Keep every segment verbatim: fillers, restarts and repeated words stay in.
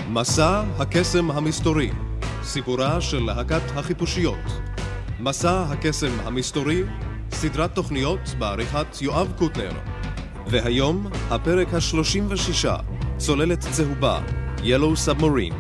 מסע הקסם המסתורי, סיפורה של להקת החיפושיות. מסע הקסם המסתורי, סדרת תוכניות בעריכת יואב קוטנר. והיום הפרק השלושים ושישה, צוללת צהובה, Yellow Submarine.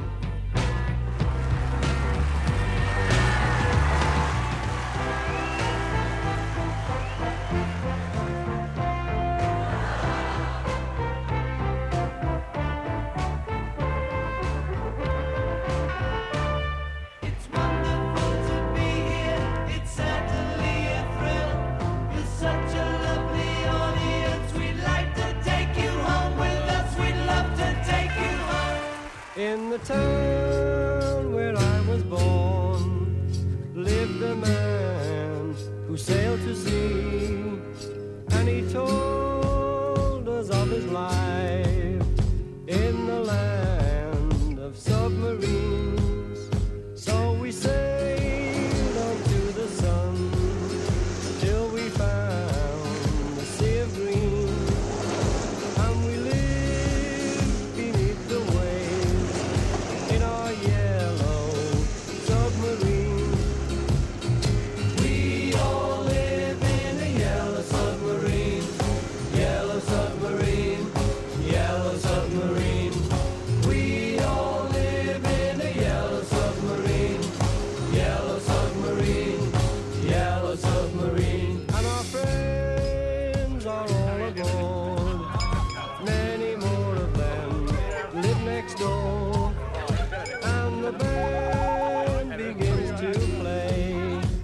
In the town where I was born lived a man who sailed to sea, and he told us of his life in the land of submarines. So we sailed on to the sun till we found the sea of green, and we lived beneath the waves in our yellow submarine. We all live in a yellow submarine, yellow submarine, yellow submarine. We all live in a yellow submarine, yellow submarine, yellow submarine. And our friends are all aboard, many more of them live next door. And the band begins to play.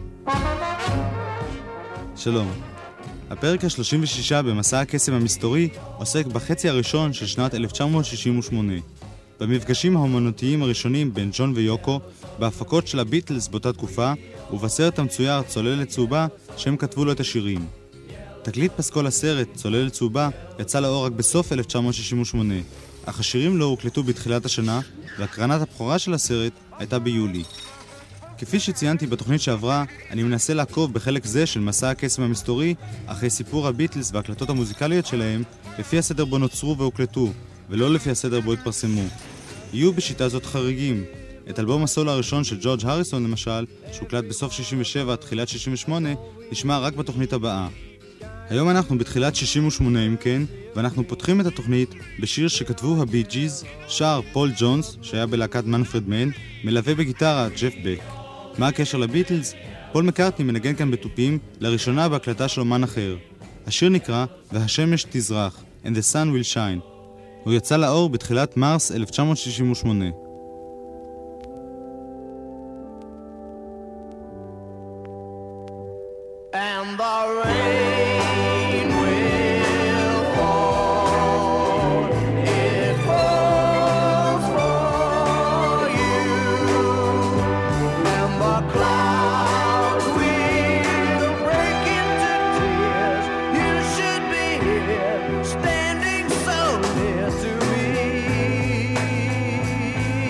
שלום. הפרק ה-שלושים ושישה במסע הקסם המסתורי עוסק בחצי הראשון של שנת אלף תשע מאות שישים ושמונה. במפגשים האומנותיים הראשונים בין ג'ון ויוקו, בהפקות של הביטלס באותה תקופה, ובסרט המצויר צוללת צהובה שהם כתבו לו את השירים. תקליט פסקול הסרט צוללת צהובה יצא לאור רק בסוף אלף תשע מאות שישים ושמונה, אך השירים לא הוקלטו בתחילת השנה, והקרנת הבכורה של הסרט הייתה ביולי. כפי שציינתי בתוכנית שעברה, אני מנסה לעקוב בחלק זה של מסע הקסם המסתורי אחרי סיפור הביטלס והקלטות המוזיקליות שלהם לפי הסדר בו נוצרו והוקלטו, ולא לפי הסדר בו התפרסמו. יהיו בשיטה זאת חריגים. את אלבום הסולו הראשון של ג'ורג' הריסון למשל, שהוקלט בסוף שישים ושבע, תחילת שישים ושמונה, נשמע רק בתוכנית הבאה. היום אנחנו בתחילת שישים ושמונה אם כן, ואנחנו פותחים את התוכנית בשיר שכתבו הבי ג'יז, שר פול ג'ונס, שהיה בלהקת מנפרד מן, מלווה בגיטרה ג'ף בק. מה הקשר לביטלס? פול מקארטני מנגן כאן בטופים, לראשונה בהקלטה של אומן אחר. השיר נקרא והשמש תזרח, And the Sun Will Shine. הוא יצא לאור בתחילת מרס אלף תשע מאות שישים ושמונה. And the rain will fall, it falls for you, and the clouds will break into tears. You should be here, standing so near to me.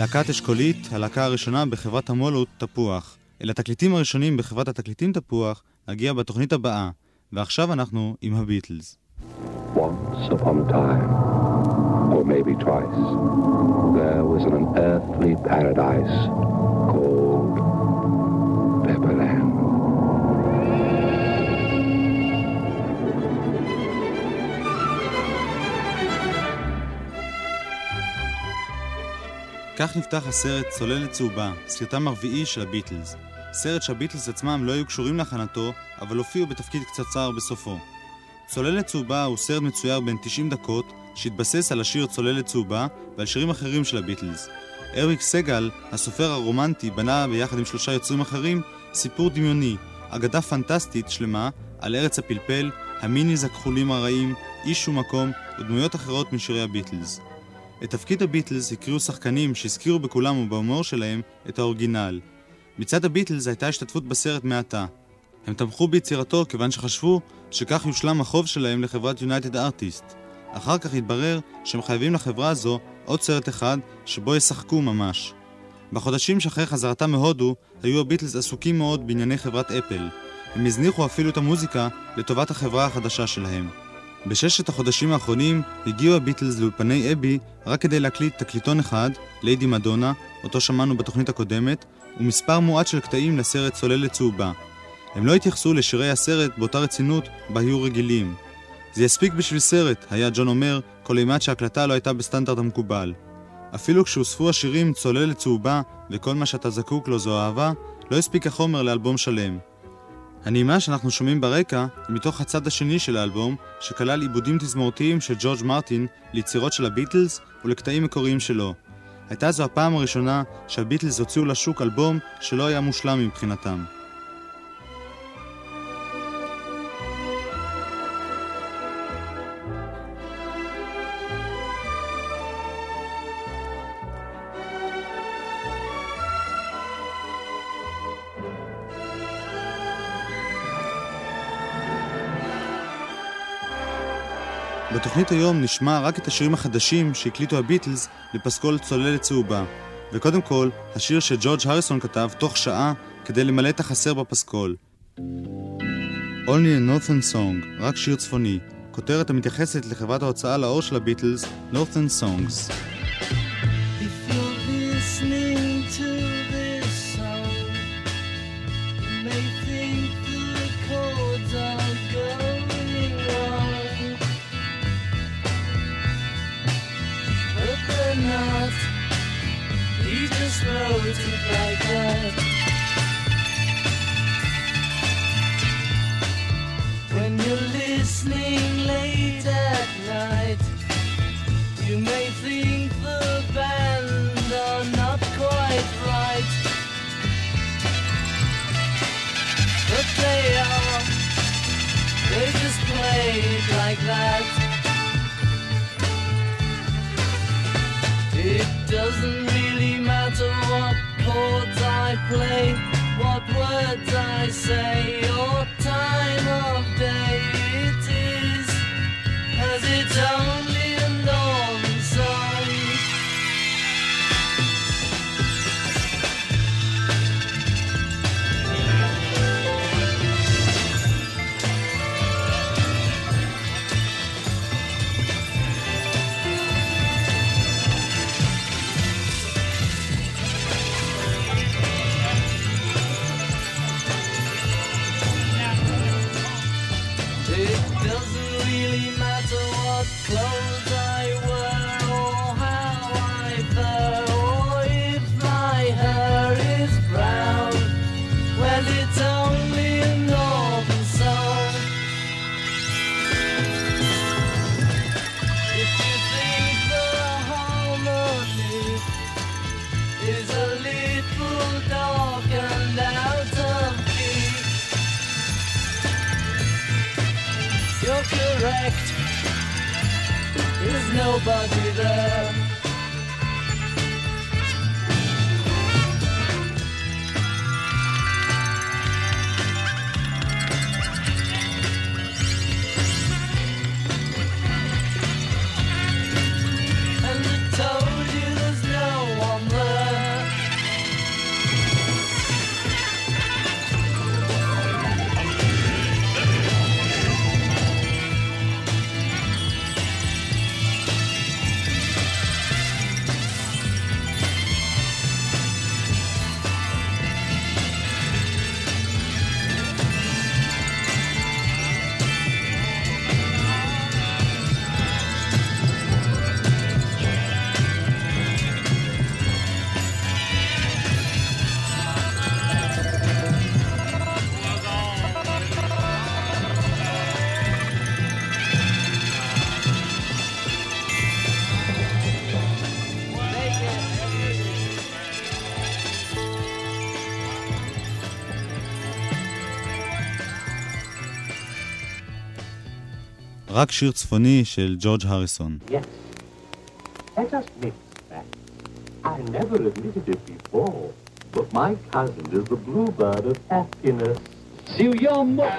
להקת אשכולית, הלהקה הראשונה בחברת המולות תפוח. אל התקליטים הראשונים בחברת התקליטים תפוח נגיע בתוכנית הבאה, ועכשיו אנחנו עם הביטלס. Once upon a time, or maybe twice, there was an unearthly paradise called Pepperland. כך נפתח הסרט צוללת צהובה, סרטם הרביעי של הביטלס. סרט שהביטלס עצמם לא היו קשורים להכנתו, אבל הופיעו בתפקיד קצרצר בסופו. צוללת צהובה הוא סרט מצויר בין תשעים דקות, שהתבסס על השיר צוללת צהובה ועל שירים אחרים של הביטלס. אריק סגל, הסופר הרומנטי, בנה ביחד עם שלושה יוצרים אחרים סיפור דמיוני, אגדה פנטסטית שלמה על ארץ הפלפל, המיניז הכחולים הרעים, איש ומקום ודמויות אחרות משירי הביטלס. את תפקיד הביטלס הקריאו שחקנים שהזכירו בכולם ובהומור שלהם את האורגינל. מצד הביטלס הייתה השתתפות בסרט מעטה. הם תמכו ביצירתו כיוון שחשבו שכך יושלם החוב שלהם לחברת יונייטד ארטיסט. אחר כך התברר שהם חייבים לחברה הזו עוד סרט אחד שבו ישחקו ממש. בחודשים שאחרי חזרתם מהודו היו הביטלס עסוקים מאוד בענייני חברת אפל. הם הזניחו אפילו את המוזיקה לטובת החברה החדשה שלהם. בששת החודשים האחרונים הגיעו הביטלס לאולפני אבי רק כדי להקליט תקליטון אחד, ליידי מדונה, אותו שמענו בתוכנית הקודמת, ומספר מועט של קטעים לסרט צוללת צהובה. הם לא התייחסו לשירי הסרט באותה רצינות בה היו רגילים. זה יספיק בשביל סרט, היה ג'ון אומר, כל אימת שההקלטה לא הייתה בסטנדרט המקובל. אפילו כשהוספו השירים צוללת צהובה וכל מה שאתה זקוק לו זו אהבה, לא הספיק החומר לאלבום שלם. הנעימה שאנחנו שומעים ברקע היא מתוך הצד השני של האלבום, שכלל עיבודים תזמורתיים של ג'ורג' מרטין ליצירות של הביטלס ולקטעים מקוריים שלו. הייתה זו הפעם הראשונה שהביטלס הוציאו לשוק אלבום שלא היה מושלם מבחינתם. בתוכנית היום נשמע רק את השירים החדשים שהקליטו הביטלס לפסקול צוללת צהובה. וקודם כל, השיר שג'ורג' הריסון כתב תוך שעה כדי למלא את החסר בפסקול. Only a Northern Song, רק שיר צפוני. כותרת המתייחסת לחברת ההוצאה לאור של הביטלס, Northern Songs. If you're listening to this song, you may think the chords are going wrong, but they're not. He just wrote it like that. When you're listening late at night, you may think the band are not quite right, but they are. They just play it like that. It doesn't really matter what chords I play, what words I say, or time of day it is, as it's only a northern song. It doesn't really matter what clothes I wear, or how I fare, or if my hair is brown. Well, it's only a northern song. If you think the harmony is a little dark and out of key, you're correct. There's nobody there. And I told you there's no one there. רק שיר צפוני של ג'ורג' הריסון. Yes. Let us mix that. I never admitted it before, but my cousin is the bluebird of happiness. So you're more...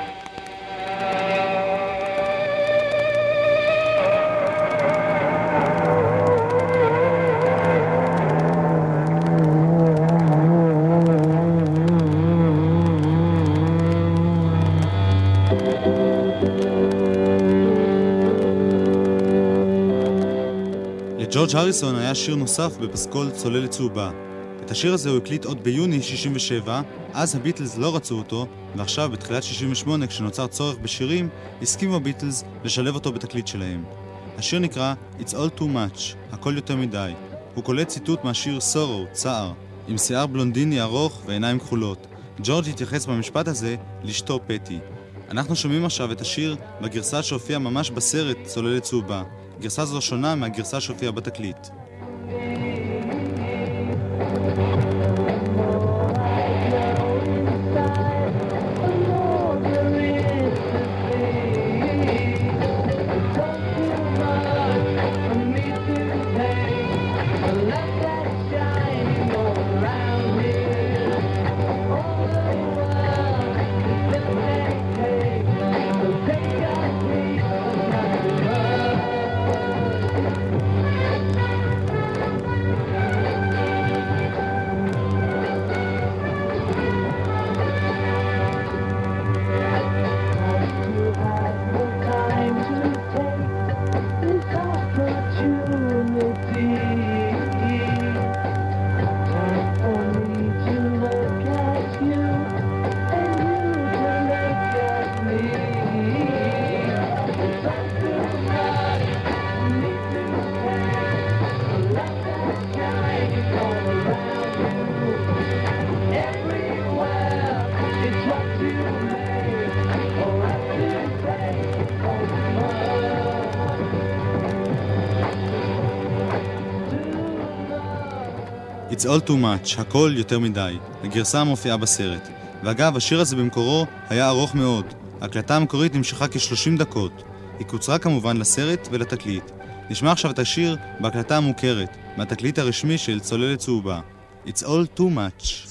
לג'ורג' הריסון היה שיר נוסף בפסקול צוללת צהובה. את השיר הזה הוא הקליט עוד ביוני שישים ושבע, אז הביטלס לא רצו אותו, ועכשיו בתחילת שישים ושמונה כשנוצר צורך בשירים, הסכימו הביטלס לשלב אותו בתקליט שלהם. השיר נקרא It's All Too Much, הכל יותר מדי. הוא קולט ציטוט מהשיר Sorrow, צער, עם שיער בלונדיני ארוך ועיניים כחולות. ג'ורג' התייחס במשפט הזה לאשתו פטי. אנחנו שומעים עכשיו את השיר בגרסה שהופיעה ממש בסרט צוללת צהובה. גרסה זו שונה מהגרסה שהופיעה בתקליט. It's All Too Much, הכל יותר מדי, הגרסה המופיעה בסרט. ואגב, השיר הזה במקורו היה ארוך מאוד. ההקלטה המקורית נמשכה כ-שלושים דקות. היא קוצרה כמובן לסרט ולתקליט. נשמע עכשיו את השיר בהקלטה המוכרת, מהתקליט הרשמי של צוללת צהובה. It's All Too Much.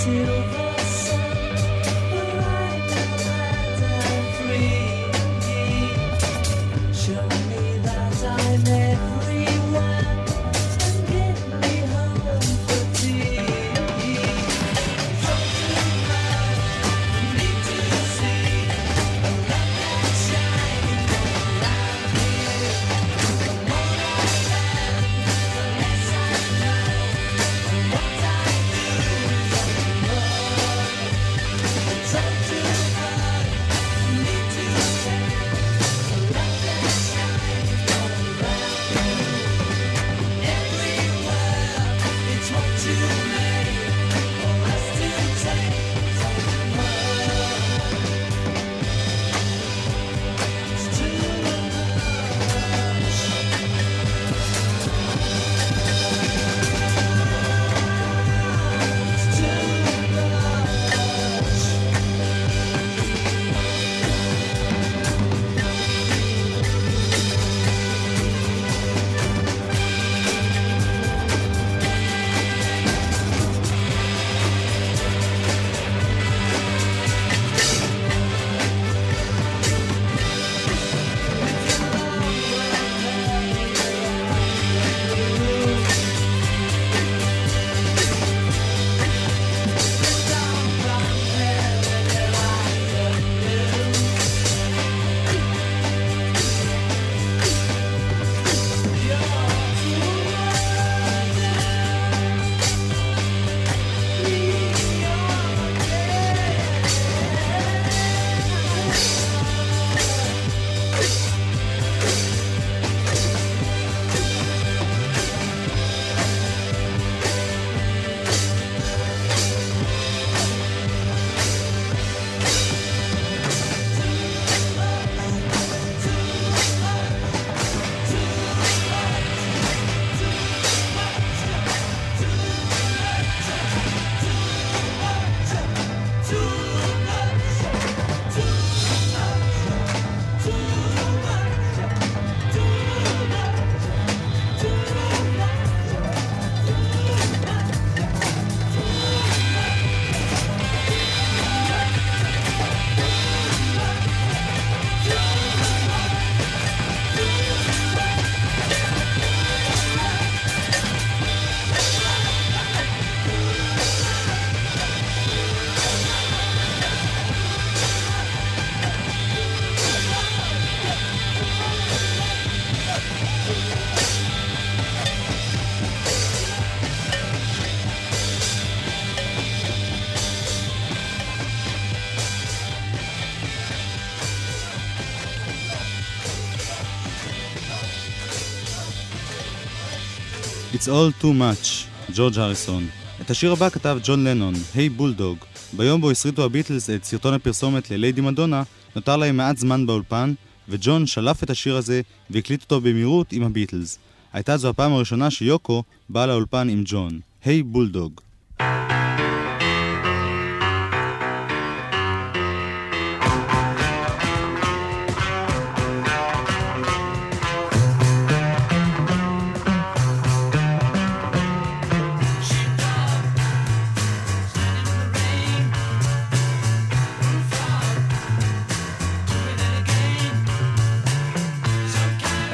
It's all too much, ג'ורג' הריסון. את השיר הבא כתב ג'ון לנון, היי בולדוג. ביום בו הסריטו הביטלס את סרטון הפרסומת לליידי מדונה, נותר להם מעט זמן באולפן, וג'ון שלף את השיר הזה והקליט אותו במהירות עם הביטלס. הייתה זו הפעם הראשונה שיוקו באה לאולפן עם ג'ון. היי בולדוג.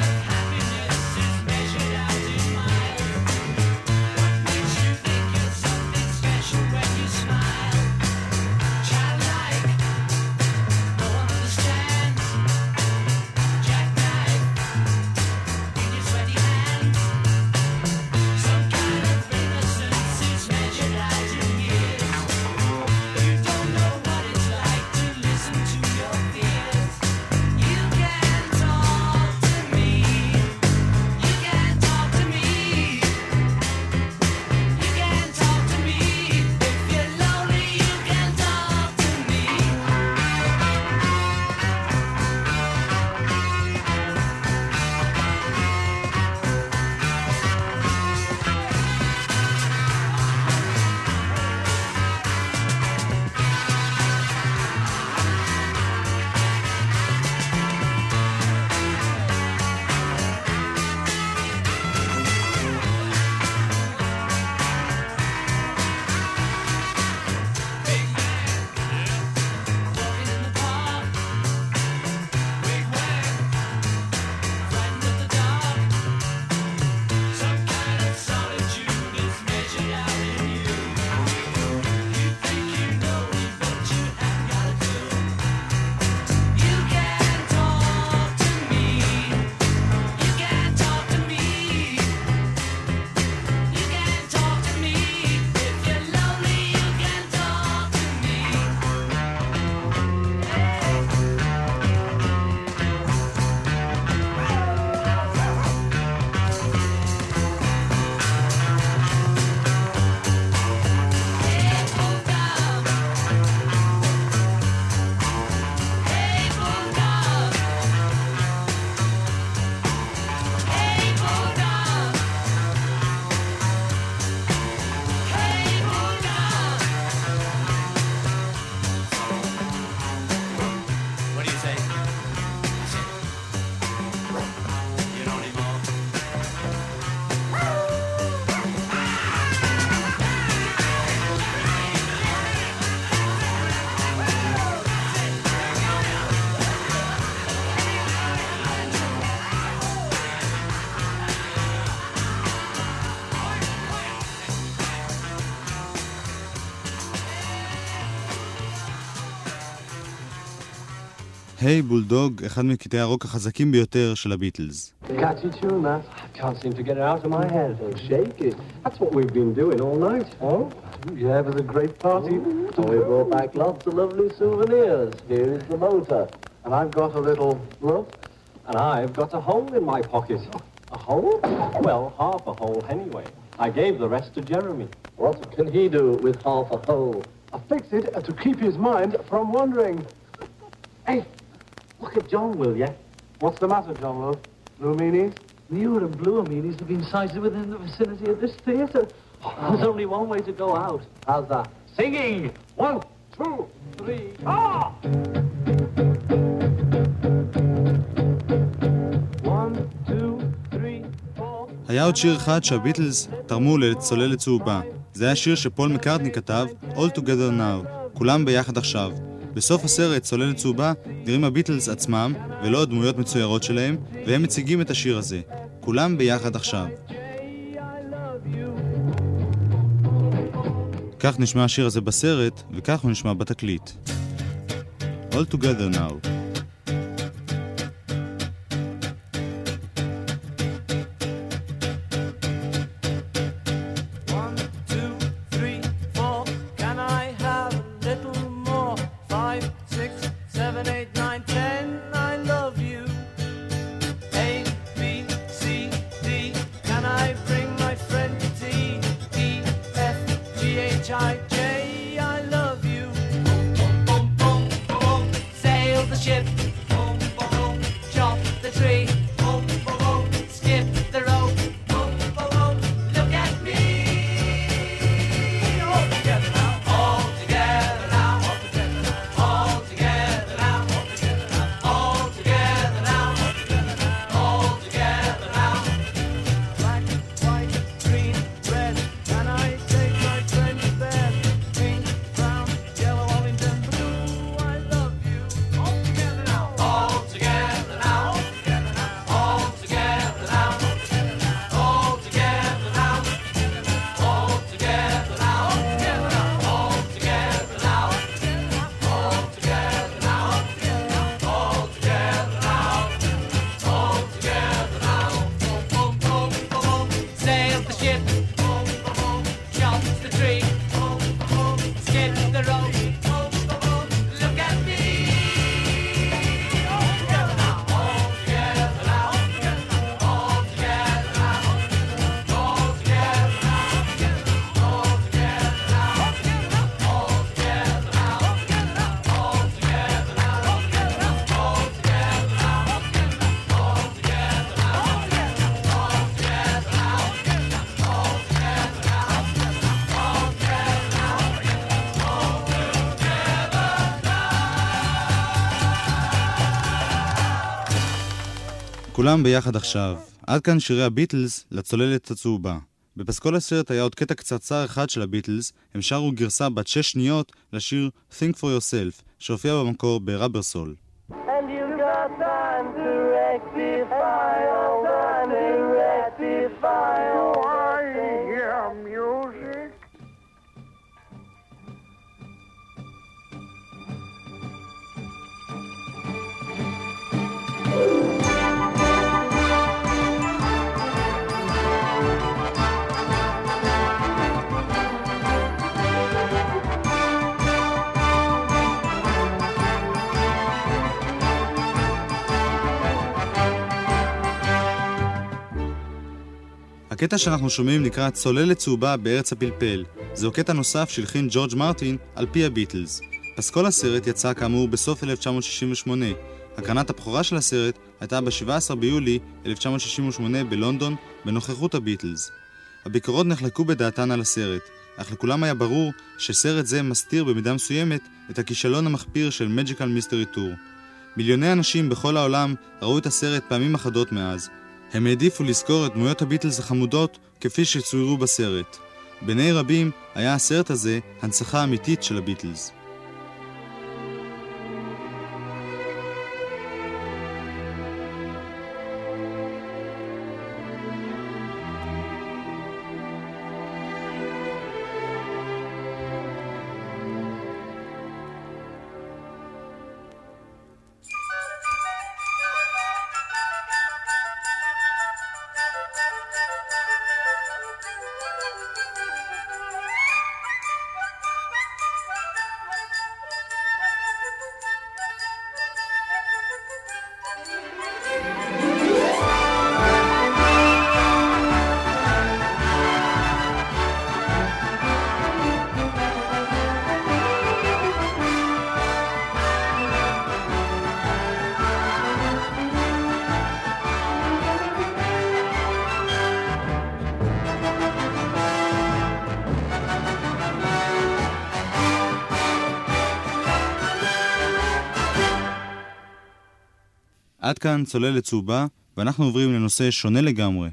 Measured out in miles. What makes you think you're so היי בולדוג, אחד מקטעי הרוק החזקים ביותר של הביטלס. Catchy tune, that. I can't seem to get it out of my head. Don't shake it. That's what we've been doing all night. Oh? Yeah, it was a great party. And we brought back lots of lovely souvenirs. Here is the motor. And I've got a little look. And I've got a hole in my pocket. A hole? Well, half a hole anyway. I gave the rest to Jeremy. What can he do with half a hole? I fixed it to keep his mind from wandering. Hey, look at John, will ya? What's the matter, John, love? Blue meanies? Newer and bluer meanies have been sighted within the vicinity of this theatre. There's only one way to go out. How's that? Singing! One, two, three, ah! One, two, three, four... היה עוד שיר אחד שהביטלס תרמו לצוללת צהובה. זה היה שיר שפול מקארטני כתב, All Together Now, כולם ביחד עכשיו. בסוף הסרט צוללת צהובה נראים הביטלס עצמם ולא הדמויות מצוירות שלהם, והם מציגים את השיר הזה, כולם ביחד עכשיו. כך נשמע השיר הזה בסרט, וכך הוא נשמע בתקליט. All Together Now. כולם ביחד עכשיו. עד כאן שירי הביטלס לצוללת הצהובה. בפסקול הסרט היה עוד קטע קצרצר אחד של הביטלס, הם שרו גרסה בת שש שניות לשיר Think for Yourself, שהופיע במקור בראבר סול. And you got time to rectify all time to rectify all I hear music. הקטע שאנחנו שומעים נקרא צוללת צהובה בארץ הפלפל. זהו קטע נוסף שהלחין ג'ורג' מרטין על פי הביטלס. פסקול הסרט יצא כאמור בסוף אלף תשע מאות שישים ושמונה. הקרנת הבכורה של הסרט הייתה ב-שבעה עשר ביולי אלף תשע מאות שישים ושמונה בלונדון בנוכחות הביטלס. הביקורות נחלקו בדעתן על הסרט, אך לכולם היה ברור שסרט זה מסתיר במידה מסוימת את הכישלון המחפיר של מג'יקל מיסטרי טור. מיליוני אנשים בכל העולם ראו את הסרט פעמים אחדות מאז. הם העדיפו לזכור את דמויות הביטלס החמודות כפי שצוירו בסרט. בעיני רבים היה הסרט הזה הנצחה אמיתית של הביטלס. עד כאן צוללת צהובה, ואנחנו עוברים לנושא שונה לגמרי.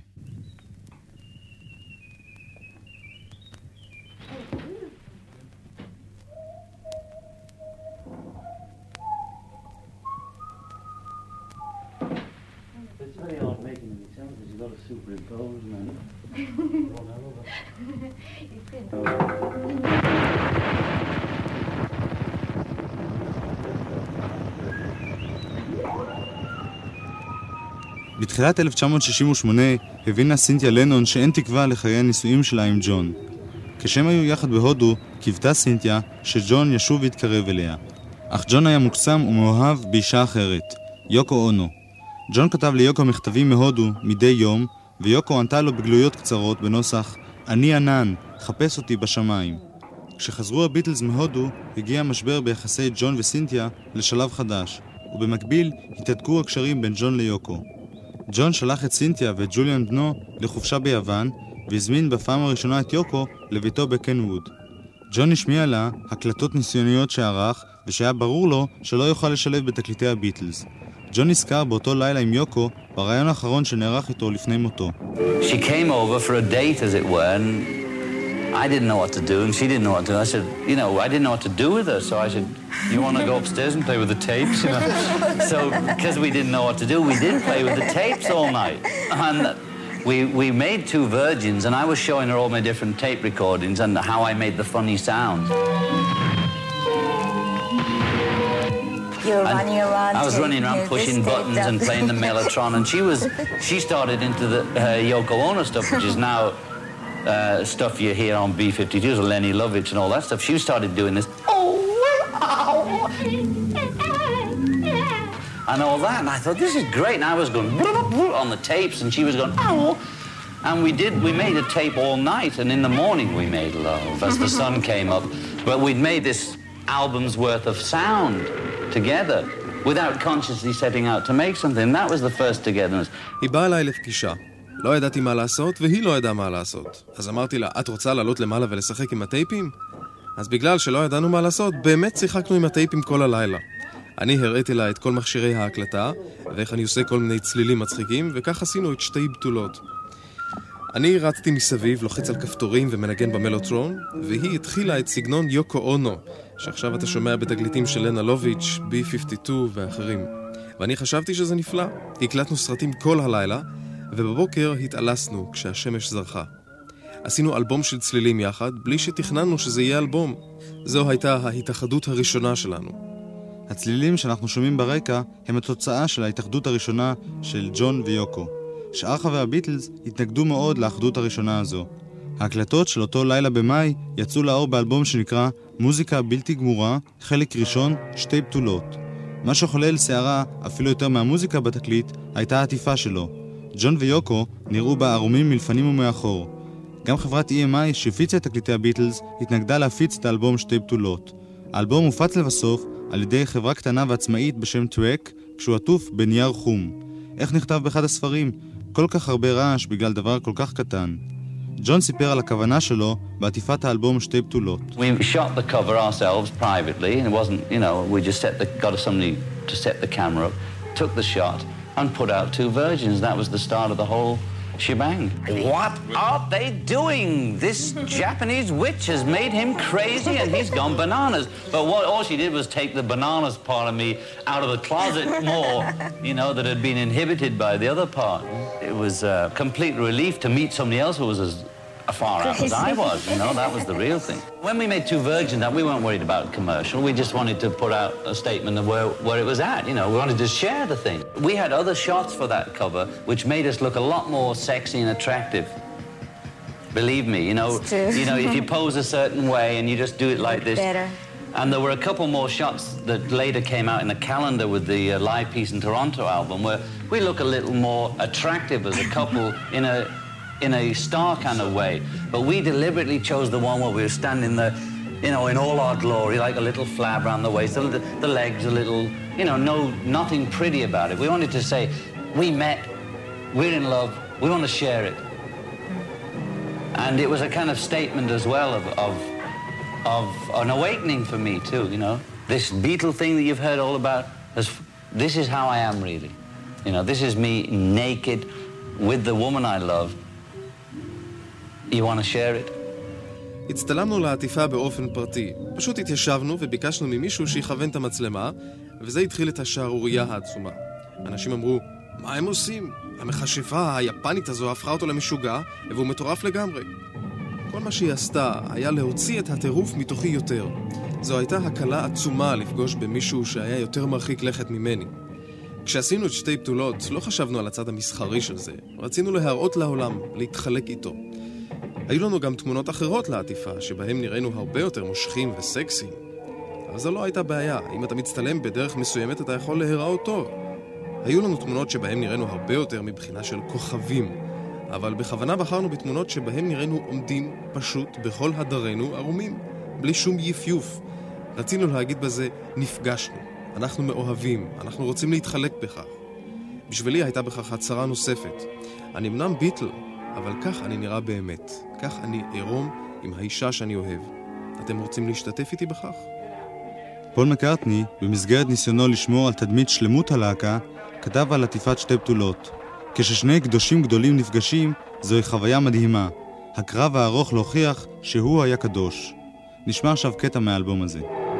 בתחילת אלף תשע מאות שישים ושמונה הבינה סינתיה לנון שאין תקווה לחיי הנישואים שלה עם ג'ון. כשהם היו יחד בהודו, קיוותה סינתיה שג'ון ישוב ויתקרב אליה. אך ג'ון היה מוקסם ומאוהב באישה אחרת, יוקו אונו. ג'ון כתב ליוקו מכתבים מהודו מדי יום, ויוקו ענתה לו בגלויות קצרות בנוסח אני ענן, חפש אותי בשמיים. כשחזרו הביטלס מהודו, הגיע משבר ביחסי ג'ון וסינתיה לשלב חדש, ובמקביל התהדקו הקשרים בין ג'ון ליוקו. ג'ון שלח את סינתיה ואת ג'וליאן בנו לחופשה ביוון, והזמין בפעם הראשונה את יוקו לביתו בקנווד. ג'ון השמיע לה הקלטות ניסיוניות שערך, ושהיה ברור לו שלא יוכל לשלב בתקליטי הביטלס. ג'ון נזכר באותו לילה עם יוקו ברעיון האחרון שנערך איתו לפני מותו. She came over for a date, as it were, and I didn't know what to do, and she didn't know what to do. I said, you know, I didn't know what to do with her, so I said, you want to go upstairs and play with the tapes? You know? So, because we didn't know what to do, we did play with the tapes all night. And we, we made two virgins, and I was showing her all my different tape recordings and how I made the funny sounds. You were running around. I was running around pushing buttons and playing the Mellotron, and she was, she started into the uh, Yoko Ono stuff, which is now uh, stuff you hear on B fifty-twos, Lenny Lovitch and all that stuff. She started doing this, oh, oh, and all that, and I thought, this is great, and I was going on the tapes, and she was going, oh, and we did, we made a tape all night, and in the morning we made love as the sun came up, but we'd made this album's worth of sound together without consciously setting out to make something. That was the first togetherness. היא באה אליי לפגישה. לא ידעתי מה לעשות, והיא לא ידעה מה לעשות. אז אמרתי לה, את רוצה לעלות למעלה ולשחק עם הטייפים? אז בגלל שלא ידענו מה לעשות, באמת שיחקנו עם הטייפים כל הלילה. אני הראיתי לה את כל מכשירי ההקלטה, ואיך אני עושה כל מיני צלילים מצחיקים, וכך עשינו את שתי בתולות. אני רצתי מסביב, לוחץ על כפתורים ומנגן במלוטרון, והיא התחילה את סגנון יוקו אונו, שעכשיו אתה שומע בתגליטים של לנה לוביץ', בי פיפטי טו ואחרים. ואני חשבתי שזה נפלא. הקלטנו סרטים כל הלילה, ובבוקר התעלסנו כשהשמש זרחה. עשינו אלבום של צלילים יחד, בלי שתכננו שזה יהיה אלבום. זו הייתה ההתאחדות הראשונה שלנו. הצלילים שאנחנו שומעים ברקע הם התוצאה של ההתאחדות הראשונה של ג'ון ויוקו. שאר חברי הביטלס התנגדו מאוד לאחדות הראשונה הזו. ההקלטות של אותו לילה במאי יצאו לאור באלבום שנקרא מוזיקה בלתי גמורה, חלק ראשון, שתי בתולות. מה שחולל שערה, אפילו יותר מהמוזיקה בתקליט, הייתה העטיפה שלו. ג'ון ויוקו נראו בה ערומים מלפנים ומאחור. גם חברת אי אם איי שהפיצה את תקליטי הביטלס התנגדה להפיץ את האלבום שתי בתולות. האלבום הופץ לבסוף על ידי חברה קטנה ועצמאית בשם טרק, כשהוא עטוף בנייר חום. איך נכתב באחד הספרים? כל כך הרבה רעש בגלל דבר כל כך קטן. ג'ון סיפר על הכוונה שלו בעטיפת האלבום שתי בתולות. We shot the cover ourselves privately, and it wasn't, you know, we just set the, got somebody to set the camera up, took the shot, and put out two virgins. That was the start of the whole shebang. What are they doing? This Japanese witch has made him crazy and he's gone bananas. But what all she did was take the bananas part of me out of the closet more, you know, that had been inhibited by the other part. It was a complete relief to meet somebody else who was as far out as I was, you know, that was the real thing. When we made Two Virgins, we weren't worried about commercial. We just wanted to put out a statement of where, where it was at, you know. We wanted to share the thing. We had other shots for that cover, which made us look a lot more sexy and attractive. Believe me, you know, you know, if you pose a certain way and you just do it like this. Better. And there were a couple more shots that later came out in a calendar with the uh, Live Peace in Toronto album, where we look a little more attractive as a couple in a in a star kind of way. But we deliberately chose the one where we were standing there, you know, in all our glory, like a little flab around the waist, the, the legs a little, you know, no, nothing pretty about it. We wanted to say, we met, we're in love, we want to share it. And it was a kind of statement as well of, of, of an awakening for me too, you know. This Beatle thing that you've heard all about, this is how I am really. You know, this is me naked with the woman I love. You want to share it? הצטלמנו לעטיפה באופן פרטי. פשוט התיישבנו וביקשנו ממישהו שיכוון את המצלמה, וזה התחיל את השערורייה העצומה. אנשים אמרו, מה הם עושים? המכשפה היפנית הזו הפכה אותו למשוגע, והוא מטורף לגמרי. כל מה שהיא עשתה היה להוציא את הטירוף מתוכי יותר. זו הייתה הקלה עצומה לפגוש במישהו שהיה יותר מרחיק לכת ממני. כשעשינו את שתי בתולות, לא חשבנו על הצד המסחרי של זה. רצינו להראות לעולם, להתחלק איתו. היו לנו גם תמונות אחרות לעטיפה, שבהם נראינו הרבה יותר מושכים וסקסיים. אבל זו לא הייתה בעיה. אם אתה מצטלם בדרך מסוימת, אתה יכול להיראות טוב. היו לנו תמונות שבהם נראינו הרבה יותר מבחינה של כוכבים. אבל בכוונה בחרנו בתמונות שבהם נראינו עומדים פשוט בכל הדרנו ערומים, בלי שום יפיוף. רצינו להגיד בזה, נפגשנו. אנחנו מאוהבים, אנחנו רוצים להתחלק בכך. בשבילי הייתה בכך הצהרה נוספת. אני אמנם ביטל, אבל כך אני נראה באמת. כך אני עירום עם האישה שאני אוהב. אתם רוצים להשתתף איתי בכך? פול מקארטני, במסגרת ניסיונו לשמור על תדמית שלמות הלהקה, כתב על עטיפת שתי בתולות. כששני קדושים גדולים נפגשים, זוהי חוויה מדהימה. הקרב הארוך להוכיח שהוא היה קדוש. נשמע עכשיו קטע מהאלבום הזה.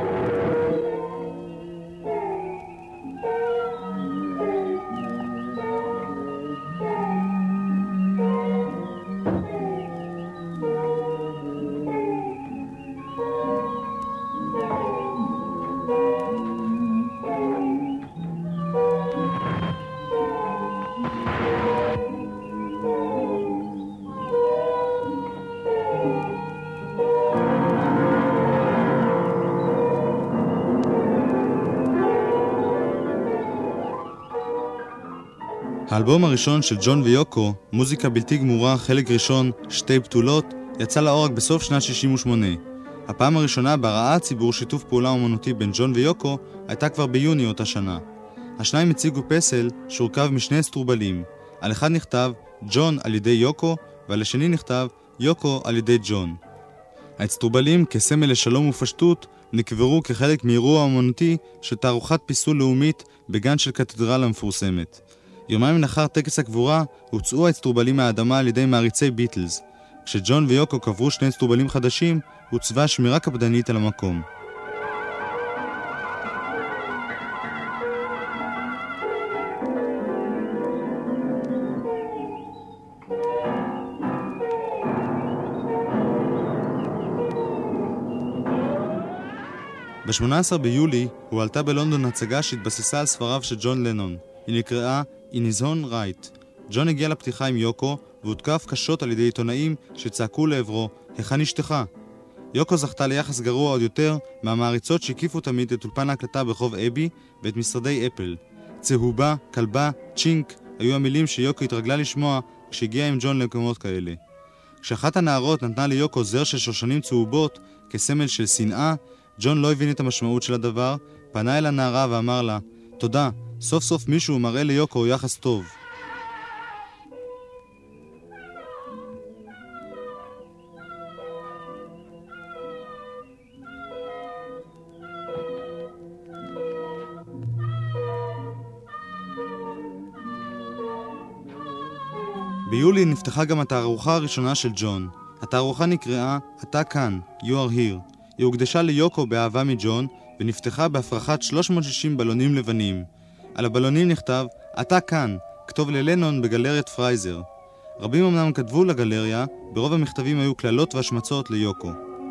האלבום הראשון של ג'ון ויוקו, מוזיקה בלתי גמורה, חלק ראשון, שתי בתולות, יצא לאור רק בסוף שנת שישים ושמונה. הפעם הראשונה בראה הציבור שיתוף פעולה אומנותי בין ג'ון ויוקו הייתה כבר ביוני אותה שנה. השניים הציגו פסל שהורכב משני אסטרובלים. על אחד נכתב ג'ון על ידי יוקו, ועל השני נכתב יוקו על ידי ג'ון. האסטרובלים, כסמל לשלום ופשטות, נקברו כחלק מאירוע אומנותי של תערוכת פיסול לאומית בגן של קתדרלה המפורסמת. יומיים לאחר טקס הקבורה הוצאו האסטרובלים מהאדמה על ידי מעריצי ביטלס. כשג'ון ויוקו קברו שני אסטרובלים חדשים, הוצבה שמירה קפדנית על המקום. ב-שמונה עשר ביולי הועלתה בלונדון הצגה שהתבססה על ספריו של ג'ון לנון. היא נקראה In His Own Right. ג'ון הגיע לפתיחה עם יוקו והותקף קשות על ידי עיתונאים שצעקו לעברו, היכן אשתך? יוקו זכתה ליחס גרוע עוד יותר מהמעריצות שהקיפו תמיד את אולפן ההקלטה ברחוב אבי ואת משרדי אפל. צהובה, כלבה, צ'ינק היו המילים שיוקו התרגלה לשמוע כשהגיעה עם ג'ון למקומות כאלה. כשאחת הנערות נתנה ליוקו זר של שושנים צהובות כסמל של שנאה, ג'ון לא הבין את המשמעות של הדבר, פנה אל הנערה ואמר לה, תודה, סוף סוף מישהו מראה ליוקו יחס טוב. ביולי נפתחה גם התערוכה הראשונה של ג'ון. התערוכה נקראה אתה כאן, You are here. היא הוקדשה ליוקו באהבה מג'ון ונפתחה בהפרחת שלוש מאות ושישים בלונים לבנים. על הבלונים נכתב אתה כאן, כתוב ללנון בגלריית פרייזר. רבים אמנם כתבו לגלריה, ברוב המכתבים היו כללות והשמצות ליוקו.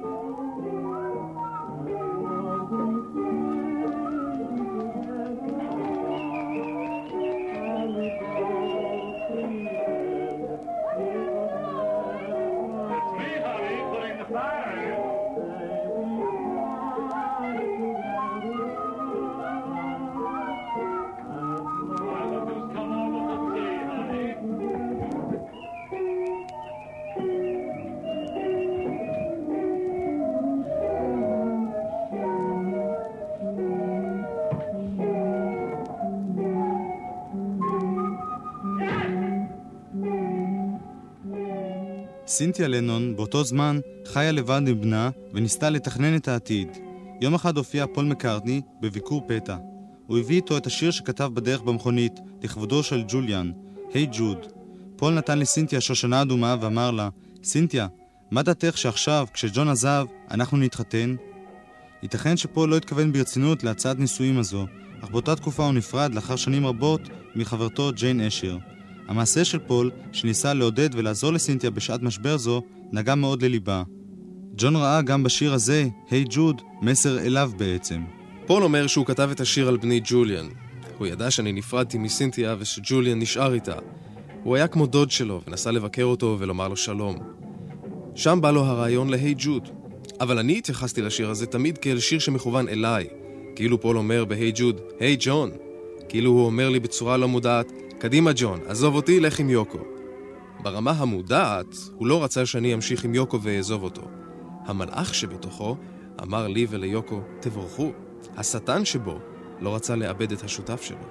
סינתיה לנון באותו זמן חיה לבד עם בנה וניסתה לתכנן את העתיד. יום אחד הופיע פול מקארטני בביקור פתע. הוא הביא איתו את השיר שכתב בדרך במכונית, לכבודו של ג'וליאן, היי ג'וד. פול נתן לסינתיה שושנה אדומה ואמר לה, סינתיה, מה דעתך שעכשיו, כשג'ון עזב, אנחנו נתחתן? ייתכן שפול לא התכוון ברצינות להצעת נישואים הזו, אך באותה תקופה הוא נפרד לאחר שנים רבות מחברתו ג'יין אשר. המעשה של פול, שניסה לעודד ולעזור לסינתיה בשעת משבר זו, נגע מאוד לליבה. ג'ון ראה גם בשיר הזה, היי ג'וד, מסר אליו בעצם. פול אומר שהוא כתב את השיר על בני ג'וליאן. הוא ידע שאני נפרדתי מסינתיה ושג'וליאן נשאר איתה. הוא היה כמו דוד שלו ונסע לבקר אותו ולומר לו שלום. שם בא לו הרעיון להי ג'וד. אבל אני התייחסתי לשיר הזה תמיד כאל שיר שמכוון אליי. כאילו פול אומר בהי ג'וד, היי ג'ון. כאילו הוא אומר לי בצורה לא מודעת, קדימה ג'ון, עזוב אותי, לך עם יוקו. ברמה המודעת, הוא לא רצה שאני אמשיך עם יוקו ואעזוב אותו. המלאך שבתוכו אמר לי וליוקו, תבורכו. השטן שבו לא רצה לאבד את השותף שלו.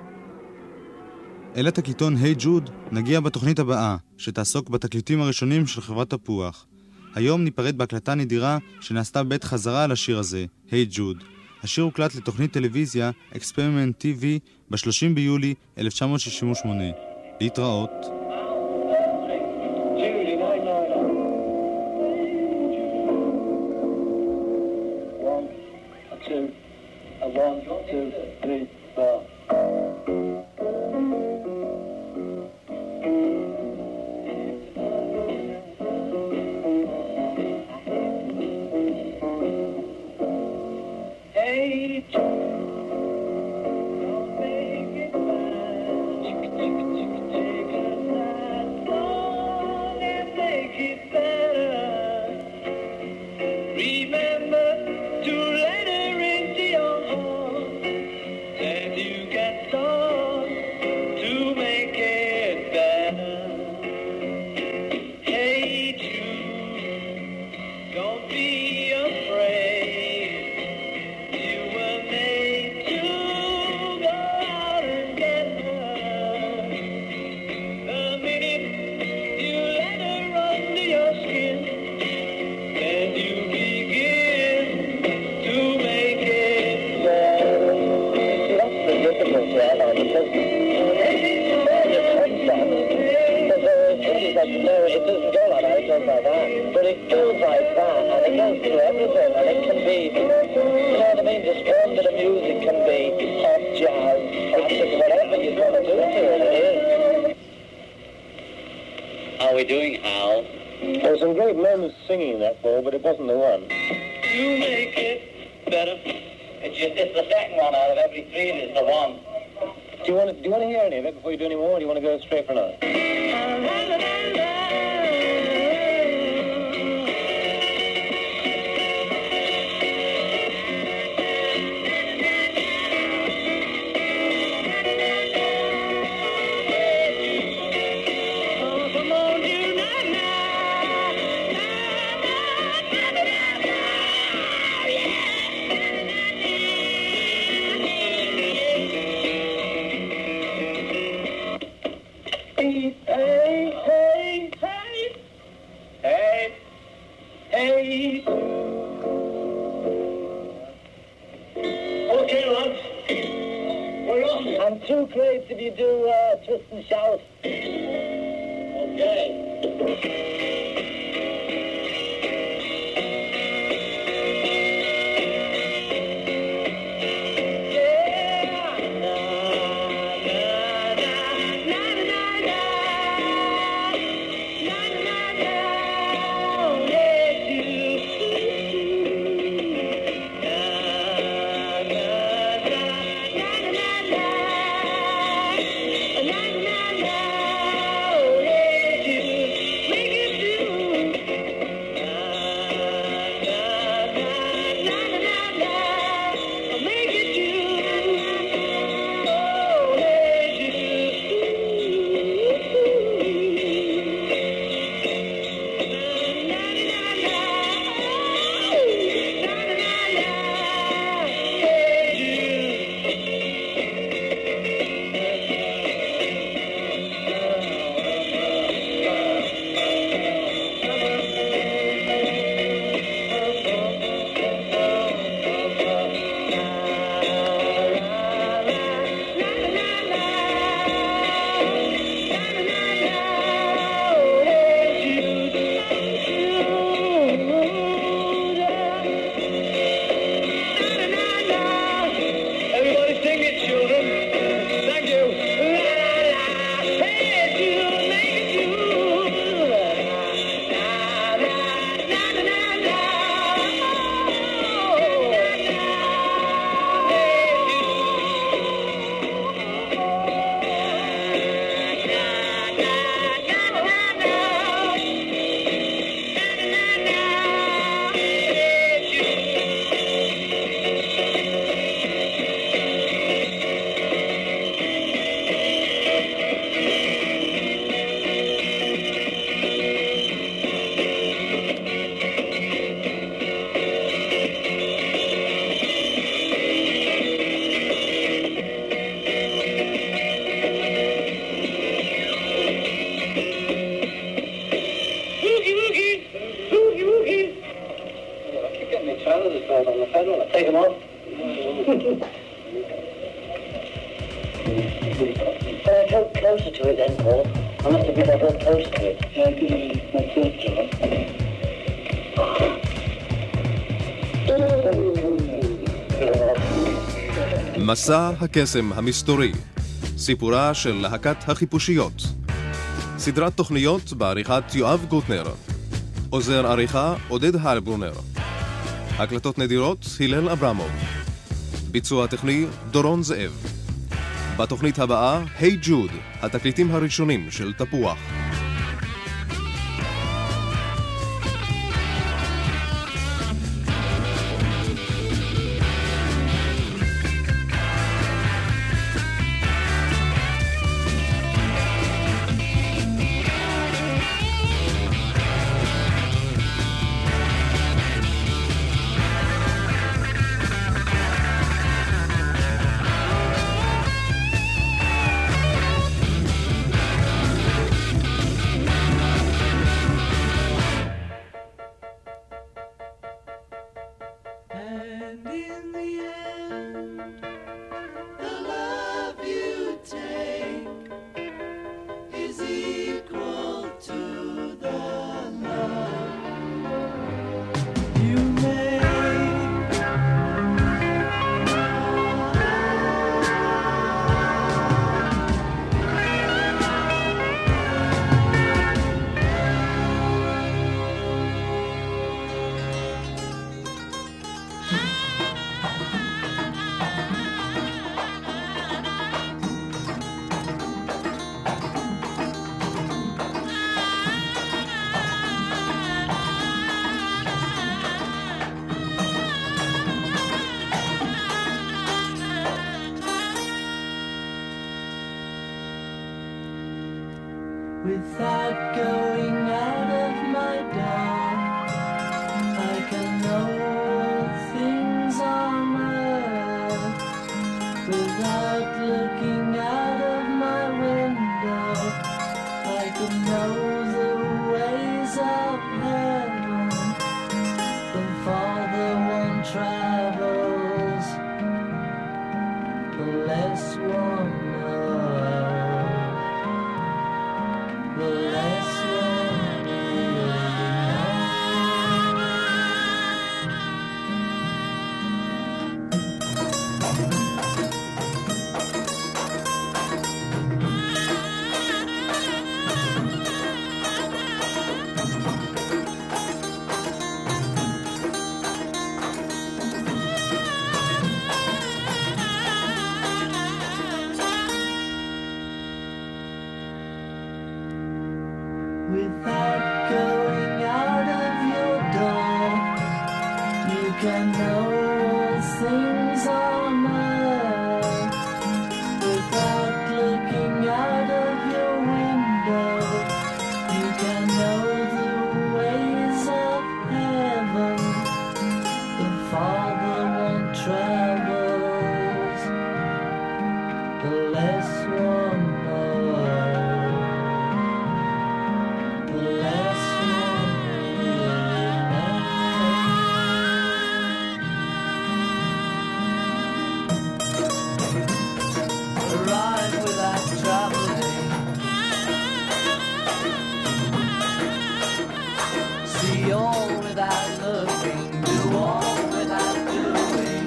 אל התקליטון היי ג'וד נגיע בתוכנית הבאה, שתעסוק בתקליטים הראשונים של חברת תפוח. היום ניפרד בהקלטה נדירה שנעשתה בית חזרה על השיר הזה, היי ג'וד. השיר הוקלט לתוכנית טלוויזיה אקספרימנט טי וי ב-שלושים ביולי אלף תשע מאות שישים ושמונה. להתראות. One, two, three, four. Hey, don't make it bad. Take a nice song and make it better. Remember to let her into your heart, and you get some to make it better. Hey Jude, don't be afraid. You were made to go out and get her. The minute you let her under your skin, then you begin to make it better. That's the difficulty I know, because you touch that. Because there are things that you know it doesn't go like that, it goes like that. But it goes like that, and it goes through everything, and it can be, you know what I mean, just one bit of music can be pop, jazz, classic, whatever you want to do to it, it is. How are we doing, Hal? There were some great moments singing that ball, but it wasn't the one. You make it better. It's just it's the second one out of every three is the one. Do you want to, do you want to hear any of it before you do any more, or do you want to go straight for another? Hey, hey, hey, hey, hey. Okay, lads, we're off. I'm too great if you do uh, twist and shout. Okay. Make it want to take them off? Can I come closer to it then, Paul? I must have been a bit close to it. Yeah, give me my first job. מסע הקסם המסתורי, סיפורה של להקת החיפושיות. סדרת תוכניות בעריכת יואב גוטנר. עוזר עריכה עודד הלברונר. הקלטות נדירות הלל אברמוב. ביצוע טכני דורון זאב. בתוכנית הבאה, היי ג'וד, התקליטים הראשונים של תפוח. Without going out of my door, I can know things on earth. Without looking out of my window, I can know the ways of heaven. The farther one travels, the less one knows. The less one Without going out of your door, you can know all things on earth. Without looking out of your window, you can know the ways of heaven. The farther one travels, the less one knows. The less one really knows. Arrive without traveling, see all without looking, do all without doing.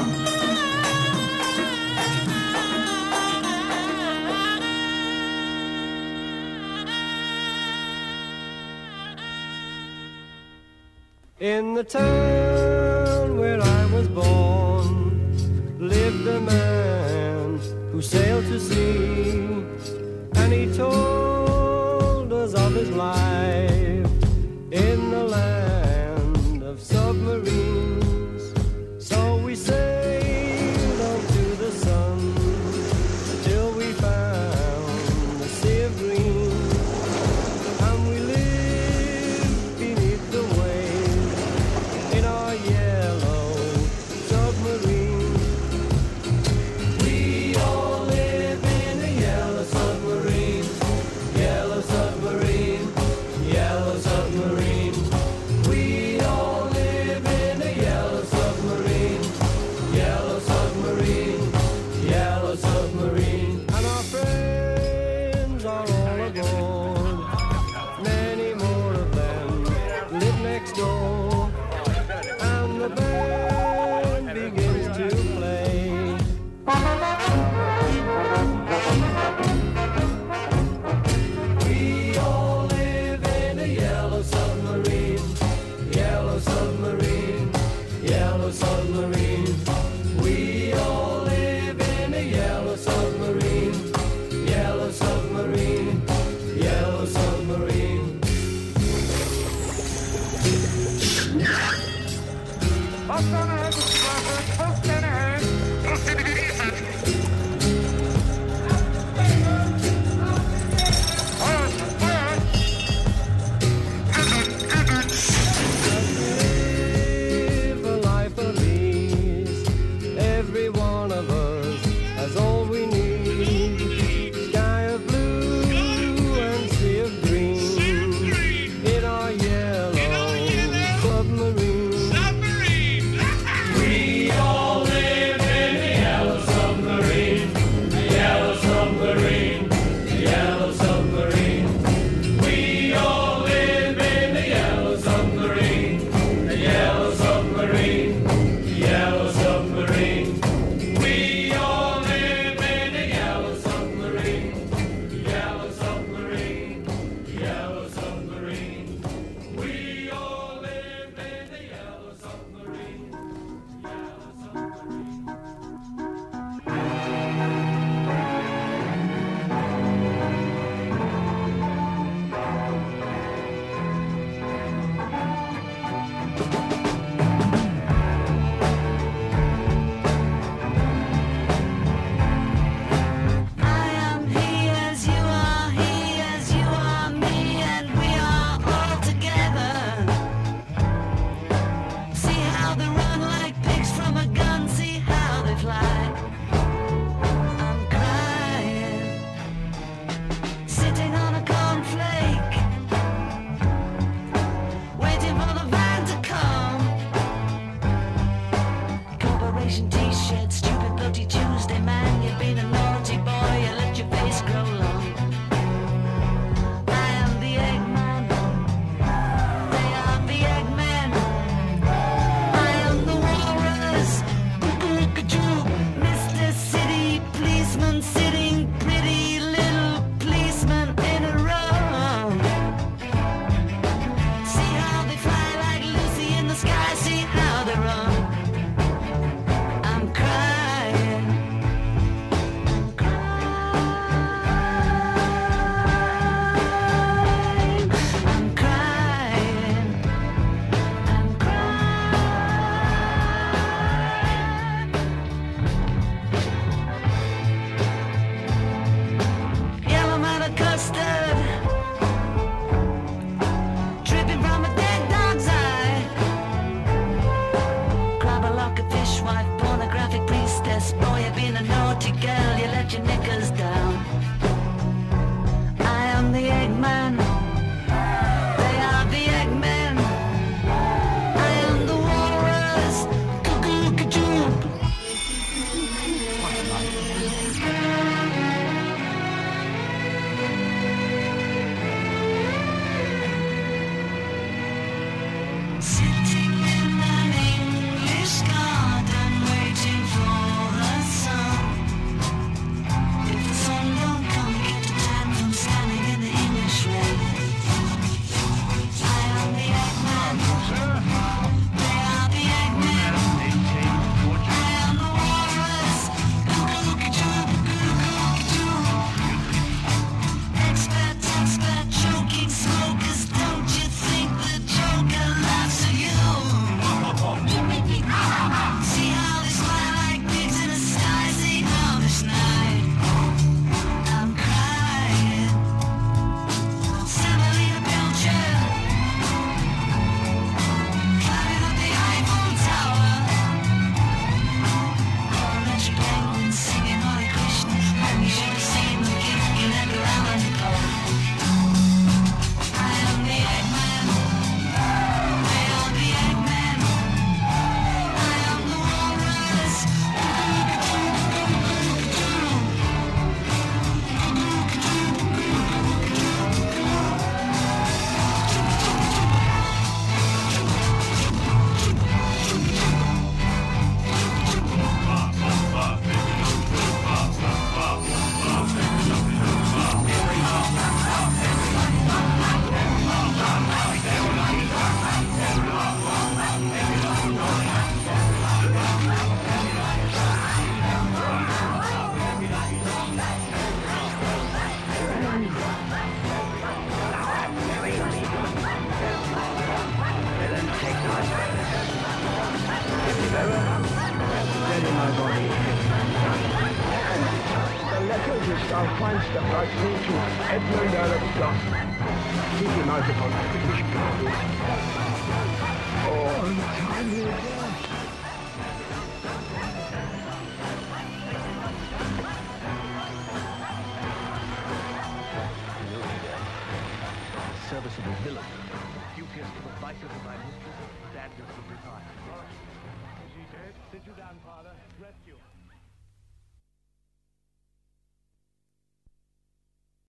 In the town where I was born lived a man who sailed to sea, and he told us of his life in the land of submarines. So we sailed on to the sun till we found the sea of green, and we lived beneath the waves in our We all live in a yellow submarine, yellow submarine, yellow submarine. We all live in a yellow submarine, yellow submarine, yellow submarine. Live a life of ease. Every one of us has all we need. Sky of blue and sea of green. In our yellow submarine. We all live in a yellow submarine, a yellow submarine, a yellow submarine. We all live in a yellow submarine, a yellow submarine, a yellow submarine. We all live in a yellow submarine, yellow submarine, yellow submarine. We all live in a yellow submarine, yellow submarine. I am he as you are, he as you are me, and we are all together. See how they run like pigs from a gun, see how they fly. I'm crying, sitting on a cornflake, waiting for the van to come. Corporation t-shirt, stupid bloody Tuesday man. You've been a naughty boy, you let your face grow long. I am the Eggman, they are the Eggmen. I am the walrus, Cuckoo-Cuckoo, Mister City Policeman, sitting pretty little policeman in a row. See how they fly like Lucy in the sky, see how they run. I'm crying, nobody. The letters which thou find'st that write me to Edmund Earl of Scott. Keep him out upon the British borders. Oh, untimely death. Serviceable villain. Dubious to the vices of my mistress, standards of desire. Is he dead? Sit you down, father. Rest you.